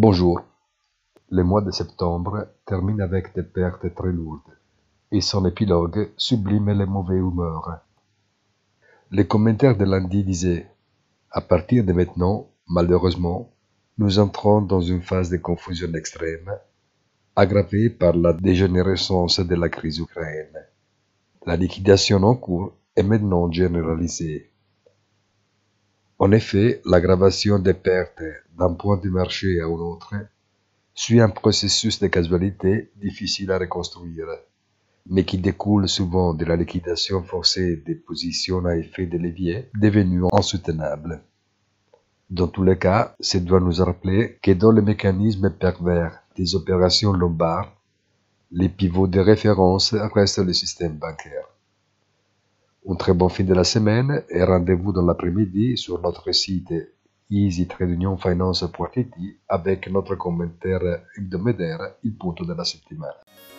Bonjour. Le mois de septembre termine avec des pertes très lourdes, et son épilogue sublime les mauvaises humeurs. Les commentaires de lundi disaient: à partir de maintenant, malheureusement, nous entrons dans une phase de confusion extrême, aggravée par la dégénérescence de la crise ukrainienne. La liquidation en cours est maintenant généralisée. En effet, l'aggravation des pertes d'un point de marché à un autre suit un processus de causalité difficile à reconstruire, mais qui découle souvent de la liquidation forcée des positions à effet de levier devenues insoutenables. Dans tous les cas, ça doit nous rappeler que dans le mécanisme pervers des opérations lombardes, les pivots de référence restent le système bancaire. Un très bon fin de la semaine et rendez-vous dans l'après-midi sur notre site easytradeunionfinance.it avec notre commentaire hebdomadaire Il punto della settimana.